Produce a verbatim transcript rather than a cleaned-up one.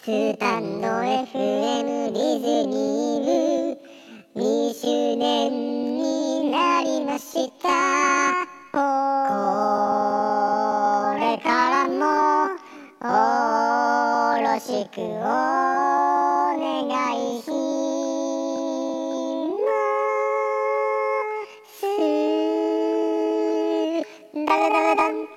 スタンド エフエム ディズニー部にしゅうねんになりました。これからもよろしくお願いします。ダメダメダン